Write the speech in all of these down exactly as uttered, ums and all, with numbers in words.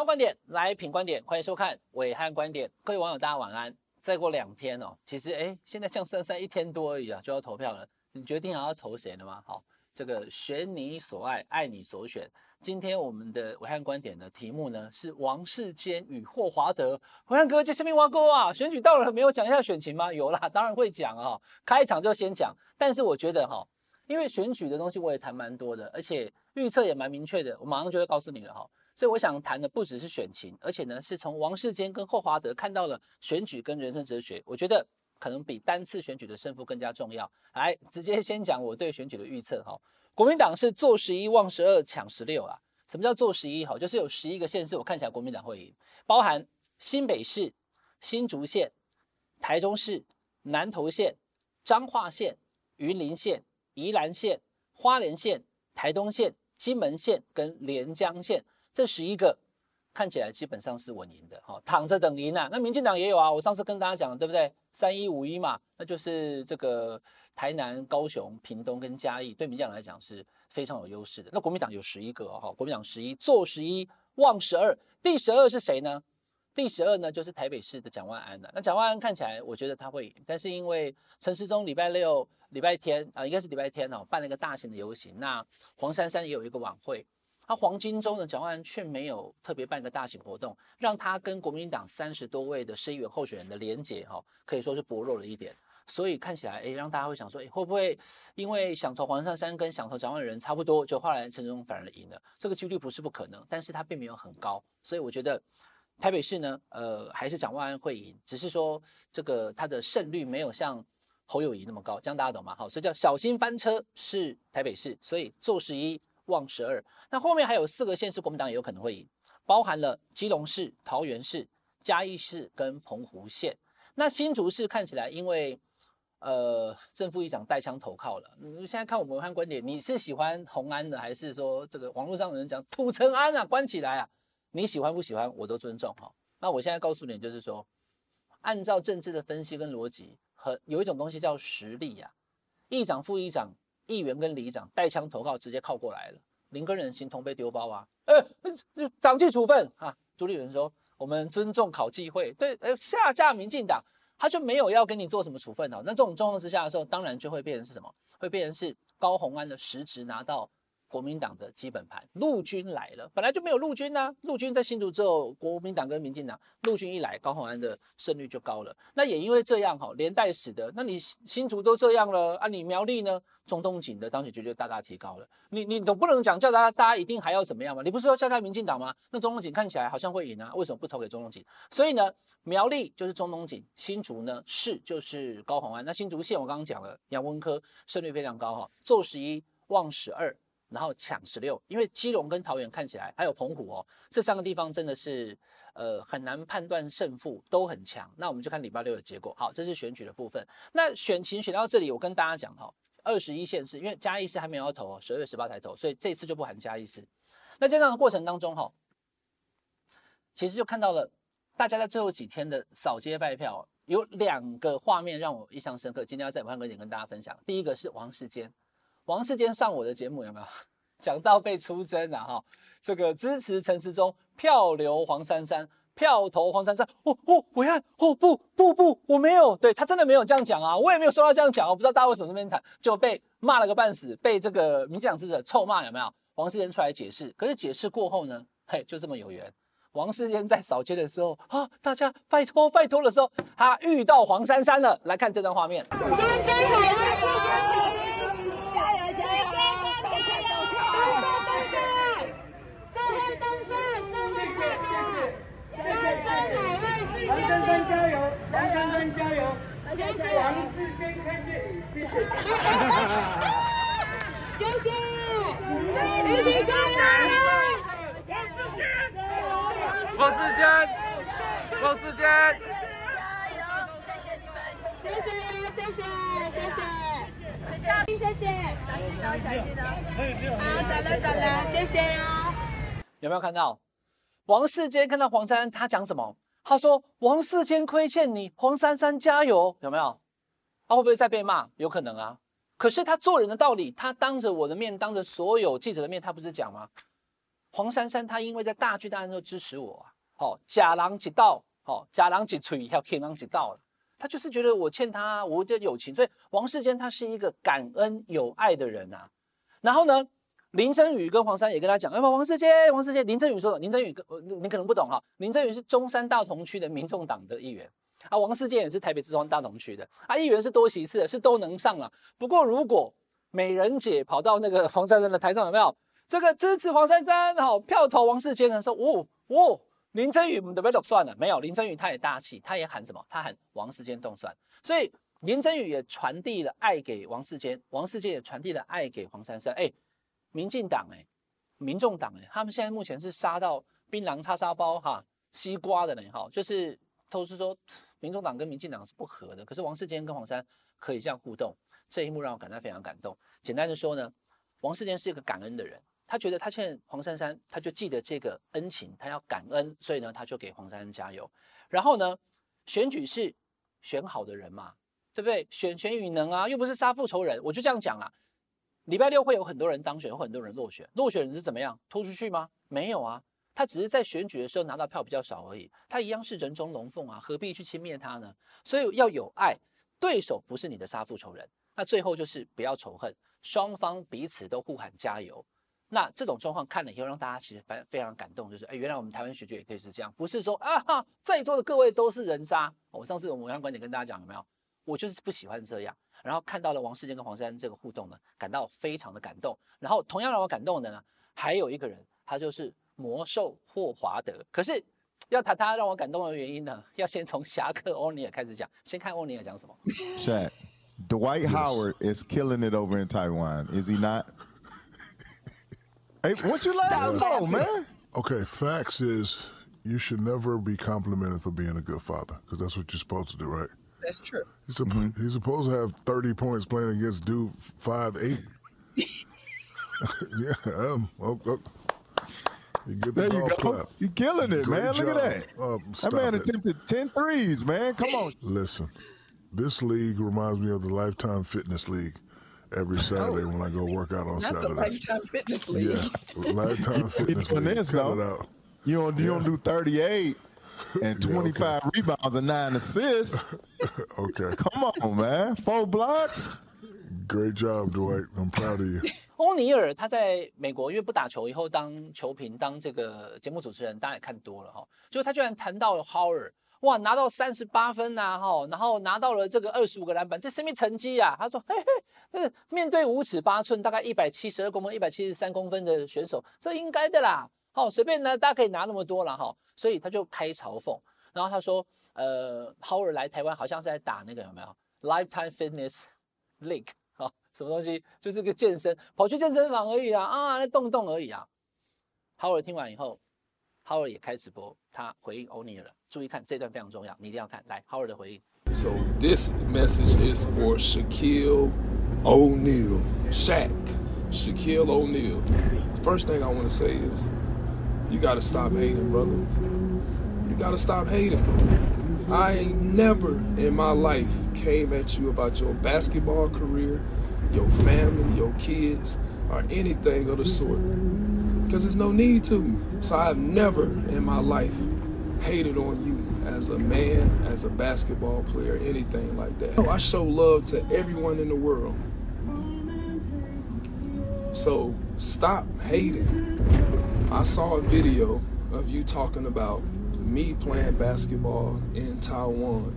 槓觀點來品觀點，歡迎收看暐瀚觀點。各位網友，大家晚安。再過兩天哦，其實哎，現在像珊珊一天多而已啊，就要投票了。你決定好要投誰了嗎？好，這個選你所愛，愛你所選。今天我們的暐瀚觀點的題目呢是王世堅與霍華德。暐瀚哥，這是什麼挖溝啊？選舉到了，沒有講一下選情嗎？有啦，當然會講啊。開場就先講，但是我覺得哈，因為選舉的東西我也談蠻多的，而且預測也蠻明確的，我馬上就會告訴你了哈。所以我想談的不只是選情，而且呢是從王世堅跟霍華德看到了選舉跟人生哲學，我覺得可能比單次選舉的勝負更加重要。來，直接先講我對選舉的預測哈。國民黨是做十一望十二搶十六啊。什麼叫做十一？就是有十一個縣市，我看起來國民黨會贏，包含新北市、新竹縣、台中市、南投縣、彰化縣、雲林縣、宜蘭縣、花蓮縣、台東縣、金門縣跟連江縣。這十一個看起來基本上是穩贏的，哈，躺着等贏啊。那民進黨也有啊，我上次跟大家講，對不對？三一五一嘛，那就是這個台南、高雄、屏東跟嘉義，對民進黨來講是非常有優勢的。那國民黨有十一個哦，國民黨十一，做十一，望十二。第十二是誰呢？第十二呢，就是台北市的蔣萬安了。那蔣萬安看起來，我覺得他會贏，但是因為陳時中禮拜六、禮拜天啊、呃，應該是禮拜天哦，辦了一個大型的遊行，那黃珊珊也有一個晚會。他黃金週呢，蔣萬安卻沒有特別辦一個大型活動，讓他跟國民黨三十多位的市議員候選人的連結哈，可以說是薄弱了一點。所以看起來，哎，讓大家會想說，哎，會不會因為想投黃珊珊跟想投蔣萬安的人差不多，就後來陳時中反而贏了？這個幾率不是不可能，但是他並沒有很高。所以我覺得台北市呢，呃，還是蔣萬安會贏，只是說這個他的勝率沒有像侯友宜那麼高，這樣大家懂嗎？好，所以叫小心翻車是台北市，所以做十一。望十二，那後面還有四個縣市，國民黨也有可能會贏，包含了基隆市、桃園市、嘉義市跟澎湖縣。那新竹市看起來，因為呃正副議長帶槍投靠了，你現在看我們暐瀚觀點，你是喜歡洪安的，還是說這個網絡上有人講土城安啊，關起來啊？你喜歡不喜歡，我都尊重哈。那我現在告訴你，就是說，按照政治的分析跟邏輯，和有一種東西叫實力啊，議長、副議長。議員跟里長帶槍投靠，直接靠過來了，零跟人形同被丟包啊！呃，黨紀處分啊！朱立倫說我們尊重考紀會，對，呃，下架民進黨，他就沒有要跟你做什麼處分哦。那這種狀況之下的時候，當然就會變成是什麼？會變成是高虹安的實質拿到國民黨的基本盤，陸軍來了，本來就沒有陸軍啊，陸軍在新竹之後，國民黨跟民進黨陸軍一來，高虹安的勝率就高了。那也因為這樣哈，連帶使得，那你新竹都這樣了啊，你苗栗呢？中東錦的當選率就大大提高了。你你總不能講叫大家大家一定還要怎麼樣嘛？你不是說下架民進黨嗎？那中東錦看起來好像會贏啊，為什麼不投給中東錦？所以呢，苗栗就是中東錦，新竹呢市就是高虹安。那新竹縣我剛剛講了，楊文科勝率非常高哈，做十一望十二。然後搶十六，因為基隆跟桃園看起來還有澎湖哦，這三個地方真的是呃很難判斷勝負，都很強。那我們就看禮拜六的結果。好，這是選舉的部分。那選情選到這裡，我跟大家講哈，二十一縣市，因為嘉義市還沒有要投哦，十二月十八才投，所以這次就不含嘉義市。那在這樣的過程當中哈，其實就看到了大家在最後幾天的掃街拜票，有兩個畫面讓我印象深刻。今天要在暐瀚觀點跟大家分享。第一個是王世堅。王世堅上我的節目有沒有講到被出征啊？哈，這個支持陳時中，票留黃珊珊，票投黃珊珊。哦哦，暐瀚，哦不不不，我沒有，對他真的沒有這樣講啊，我也沒有說他這樣講，我不知道大家為什麼這邊談，就被罵了個半死，被這個民進黨支持者臭罵有沒有？王世堅出來解釋，可是解釋過後呢，嘿，就這麼有緣。王世堅在掃街的時候啊，大家拜托拜托的時候，他遇到黃珊珊了。來看這段畫面。 珊珊加油！珊珊加油！王世堅看見你，謝謝。謝謝，一起加油！王世堅，王世堅，加油！謝謝你們，謝謝，謝謝，謝謝，謝謝，謝謝，小心哦，小心哦。好，走了走了，謝謝哦。 有沒有看到王世堅看到黃珊珊，他講什麼？他說：“王世堅虧欠你，黃珊珊加油，有沒有？他、啊、會不會再被罵？有可能啊。可是他做人的道理，他當着我的面，當着所有記者的面，他不是講嗎？ 黃珊珊她因為在大巨蛋的時候支持我啊，好、哦，假狼幾道，好、哦，假狼幾錘，還有天狼幾道了。他就是覺得我欠他，我的友情，所以王世堅他是一個感恩有愛的人啊。然後呢，林珍羽跟黃珊也跟他講，哎，王世堅，王世堅，林珍羽說的，林珍羽你可能不懂哈，林珍羽是中山大同區的民眾黨的議員。啊，王世堅也是台北中山大同區的，啊，議員是多席次的，是都能上了。不過如果美人姐跑到那個黃珊珊的台上，有沒有這個支持黃珊珊，好票投王世堅的時候，哦哦，林珍羽我們準備都算了，沒有林珍羽他也大氣，他也喊什麼？他喊王世堅動算，所以林珍羽也傳遞了愛給王世堅，王世堅也傳遞了愛給黃珊珊。哎，民進黨哎，民眾黨哎，他們現在目前是殺到檳榔叉燒包哈，西瓜的呢哈，就是都是說。民眾黨跟民進黨是不合的，可是王世堅跟黃珊可以這樣互動，這一幕讓我感到非常感動。簡單的說呢，王世堅是一個感恩的人，他覺得他欠黃珊珊，他就記得這個恩情，他要感恩，所以呢，他就給黃珊珊加油。然後呢，選舉是選好的人嘛，對不對？選賢與能啊，又不是殺父仇人，我就這樣講啦。禮拜六會有很多人當選，有很多人落選，落選人是怎麼樣？拖出去嗎？沒有啊。他只是在選舉的時候拿到票比較少而已，他一樣是人中龍鳳啊，何必去輕蔑他呢？所以要有愛，對手不是你的殺父仇人。那最後就是不要仇恨，雙方彼此都互喊加油。那這種狀況看了以後，讓大家其實非非常感動，就是哎，原來我們台灣選舉也可以是這樣，不是說啊哈，在座的各位都是人渣。我上次我們暐瀚觀點跟大家講有沒有？我就是不喜歡這樣。然後看到了王世堅跟黃珊珊這個互動呢，感到非常的感動。然後同樣讓我感動的呢，還有一個人，他就是魔獸霍華德。可是要談他讓我感動的原因呢，要先從俠客歐尼爾開始講。先看歐尼爾講什麼。 Shaq, Dwight Howard is killing it over in Taiwan, is he not? Hey, what you laughing for, man? Okay, facts is you should never be complimented for being a good father, because that's what you're supposed to do, right? That's true. He's, a, mm-hmm. he's supposed to have thirty points playing against dude five eight. yeah, um, oh, oh. You get the there you go. Clap. You're killing it, Great man. job. Look at that. Uh, that man it. attempted ten threes, man. Come on. Listen, this league reminds me of the Lifetime Fitness League. Every Saturday when I go work out on That's Saturday. The Lifetime Fitness League. Yeah, Lifetime Fitness League. This, Cut it out. You don't, you yeah. don't do thirty-eight and twenty-five yeah, okay. rebounds and nine assists. Okay. Come on, man. Four blocks. Great job, Dwight. I'm proud of you. 歐尼爾他在美國因為不打球，以後當球評、當這個節目主持人，大家也看多了哈。就他居然談到了 Howard。哇，拿到三十八分吶、啊，哈，然後拿到了這個二十五個籃板，這什麼成績啊？他說，嘿嘿，面對五尺八寸，大概一百七十二公分、一百七十三公分的選手，這應該的啦。好，隨便呢，大家可以拿那麼多了哈。所以他就開嘲諷，然後他說，呃 ，Howard 來台灣好像是在打那個有沒有 Lifetime Fitness League 好，什麼東西？就是個健身，跑去健身房而已啊，啊，那動動而已啊。Howard 聽完以後。Howard 也開直播，他回應歐尼爾了。注意看這段非常重要，你一定要看。來 ，Howard 的回應。 So this message is for Shaquille O'Neal, Shaq, Shaquille O'Neal. First thing I want to say is, you got to stop hating, brother. You got to stop hating. I ain't never in my life came at you about your basketball career, your family, your kids, or anything of the sort. Because there's no need to. So I've never in my life hated on you as a man, as a basketball player, anything like that. I show love to everyone in the world. So stop hating. I saw a video of you talking about me playing basketball in Taiwan.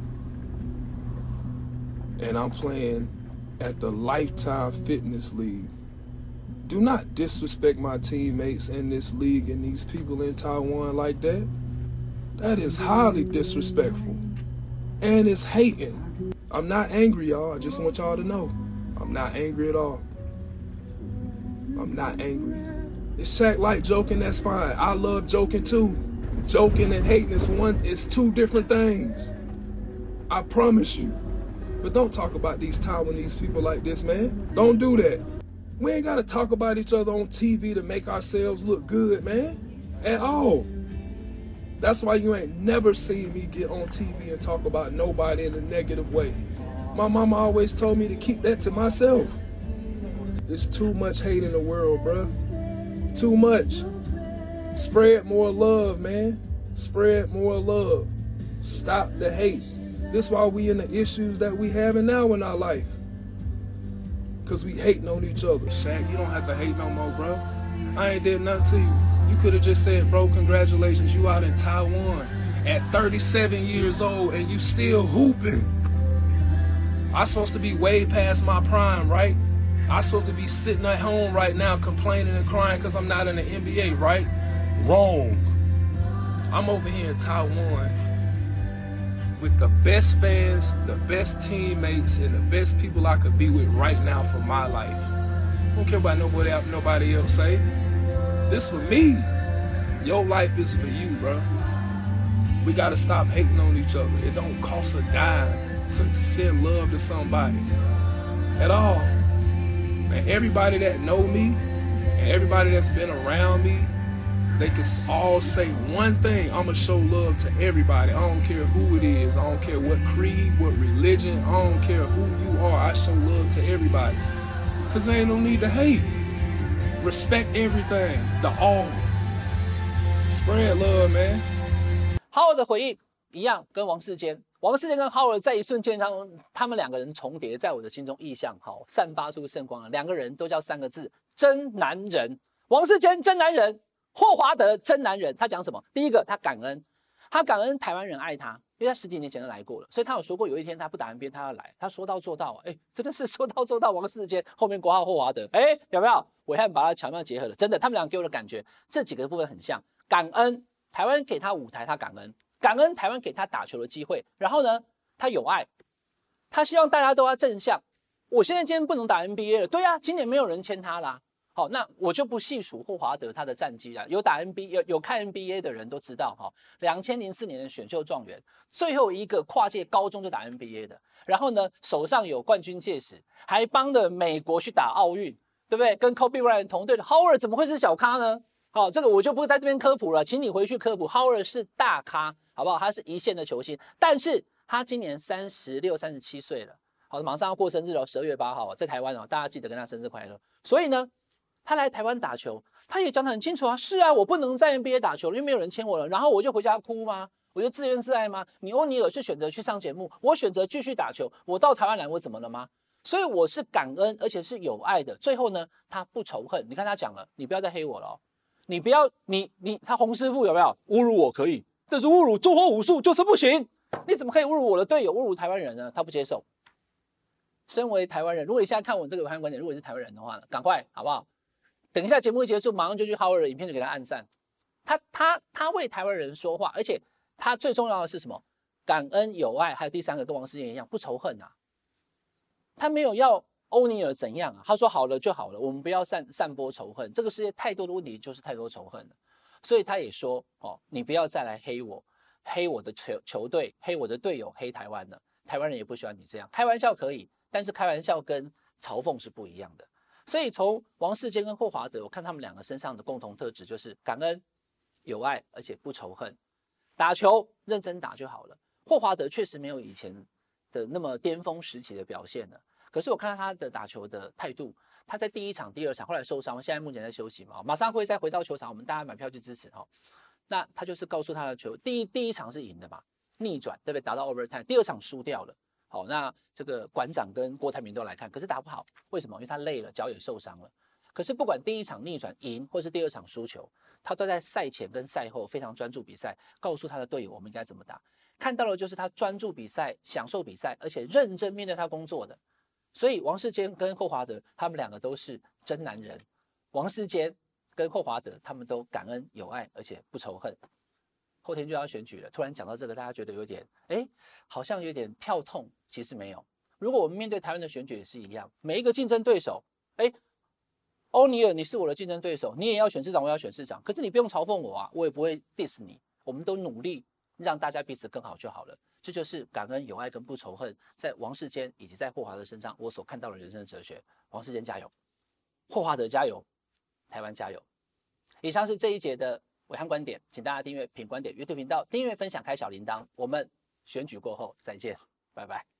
And I'm playing at the Lifetime Fitness League. Do not disrespect my teammates in this league and these people in Taiwan like that. That is highly disrespectful. And it's hating. I'm not angry, y'all. I just want y'all to know. I'm not angry at all. I'm not angry. If Shaq like joking, that's fine. I love joking too. Joking and hating is one is two different things. I promise you. But don't talk about these Taiwanese people like this, man. Don't do that. We ain't got to talk about each other on T V to make ourselves look good, man, at all. That's why you ain't never seen me get on T V and talk about nobody in a negative way. My mama always told me to keep that to myself. There's too much hate in the world, bruh. Too much. Spread more love, man. Spread more love. Stop the hate. This is why we in the issues that we having now in our life. Because we hating on each other. Shaq, you don't have to hate no more, bro. I ain't did nothing to you. You could have just said, bro, congratulations, you out in Taiwan at thirty-seven years old and you still hooping. I'm supposed to be way past my prime, right? I'm supposed to be sitting at home right now complaining and crying because I'm not in the N B A, right? Wrong. I'm over here in Taiwan with the best fans, the best teammates, and the best people I could be with right now for my life. I don't care about nobody else, nobody else say. This for me. Your life is for you, bro. We gotta stop hating on each other. It don't cost a dime to send love to somebody at all. And everybody that know me and everybody that's been around me, they can all say one thing: I'ma show love to everybody. I don't care who it is. I don't care what creed, what religion. I don't care who you are. I show love to everybody. Cause there ain't no need to hate. Respect everything. The all. Spread love, man. 浩尔的回应一樣，跟王世堅，王世堅跟浩爾在一瞬間，他們他們兩個人重疊，在我的心中意象好，散發出聖光了。兩個人都叫三個字：真男人。王世堅真男人。霍華德真男人，他講什麼？第一個，他感恩，他感恩台灣人愛他，因為他十幾年前就來過了，所以他有說過有一天他不打 N B A 他要來，他說到做到，哎，真的是說到做到。王世堅後面括號霍華德，哎，有沒有？暐瀚把他巧妙結合了，真的，他們倆給我的感覺這幾個部分很像。感恩台灣給他舞台，他感恩，感恩台灣給他打球的機會，然後呢，他有愛，他希望大家都要正向。我現在今天不能打 N B A 了，對啊，今年沒有人簽他啦。好，那我就不細數霍華德他的戰績了。有打 N B A 有有看 N B A 的人都知道，哈，兩千零四年的選秀狀元，最後一個跨界高中就打 N B A 的。然後呢，手上有冠軍戒指，還幫了美國去打奧運，對不對？跟 Kobe Bryant 同隊的 Howard 怎麼會是小咖呢？好，這個我就不在這邊科普了，請你回去科普。Howard 是大咖，好不好？他是一線的球星，但是他今年三十六、三十七歲了，好，馬上要過生日了，十二月八號在台灣哦，大家記得跟他生日快樂。所以呢，他來台灣打球，他也講得很清楚啊，是啊，我不能在 N B A 打球，因為沒有人簽我了，然後我就回家哭嗎？我就自怨自艾嗎？你歐尼爾是選擇去上節目，我選擇繼續打球，我到台灣來，我怎麼了嗎？所以我是感恩，而且是有愛的。最後呢，他不仇恨。你看他講了，你不要再黑我了哦，你不要，你你他洪師傅有沒有侮辱我可以，但是侮辱中華武術就是不行。你怎麼可以侮辱我的隊友，侮辱台灣人呢？他不接受。身為台灣人，如果你現在看我這個暐瀚觀點，如果你是台灣人的話呢，趕快好不好？等一下節目一結束，馬上就去 Howard 的影片就給他按讚。他他他為台灣人說話，而且他最重要的是什麼？感恩有愛，還有第三個跟王世堅一樣，不仇恨啊。他沒有要歐尼爾怎樣啊，他說好了就好了，我們不要散散播仇恨。這個世界太多的問題就是太多仇恨了，所以他也說哦，你不要再來黑我，黑我的球球隊，黑我的隊友，黑台灣了。台灣人也不喜歡你這樣，開玩笑可以，但是開玩笑跟嘲諷是不一樣的。所以從王世堅跟霍華德，我看他們兩個身上的共同特質就是感恩、有愛，而且不仇恨。打球認真打就好了。霍華德確實沒有以前的那麼巔峰時期的表現了，可是我看到他的打球的態度，他在第一場、第二場後來受傷，現在目前在休息嘛，馬上會再回到球場，我們大家買票去支持哈。那他就是告訴他的球，第一第一場是贏的嘛，逆轉對不對？打到 overtime， 第二場輸掉了。好，那這個館長跟郭台銘都來看，可是打不好，為什麼？因為他累了，腳也受傷了。可是不管第一場逆轉贏，或是第二場輸球，他都在賽前跟賽後非常專注比賽，告訴他的隊友我們應該怎麼打。看到的就是他專注比賽、享受比賽，而且認真面對他工作的。所以王世堅跟霍華德他們兩個都是真男人。王世堅跟霍華德他們都感恩有愛，而且不仇恨。後天就要選舉了，突然講到這個，大家覺得有點哎，好像有點跳痛，其實沒有。如果我們面對台灣的選舉也是一樣，每一個競爭對手，哎，歐尼爾你是我的競爭對手，你也要選市長，我也要選市長，可是你不用嘲諷我啊，我也不會 diss 你，我們都努力讓大家彼此更好就好了。這就是感恩、有愛跟不仇恨，在王世堅以及在霍華德身上，我所看到的人生的哲學。王世堅加油，霍華德加油，台灣加油。以上是這一節的暐瀚觀點，請大家訂閱品觀點 YouTube 頻道，訂閱分享開小鈴鐺，我們選舉過後再見，拜拜。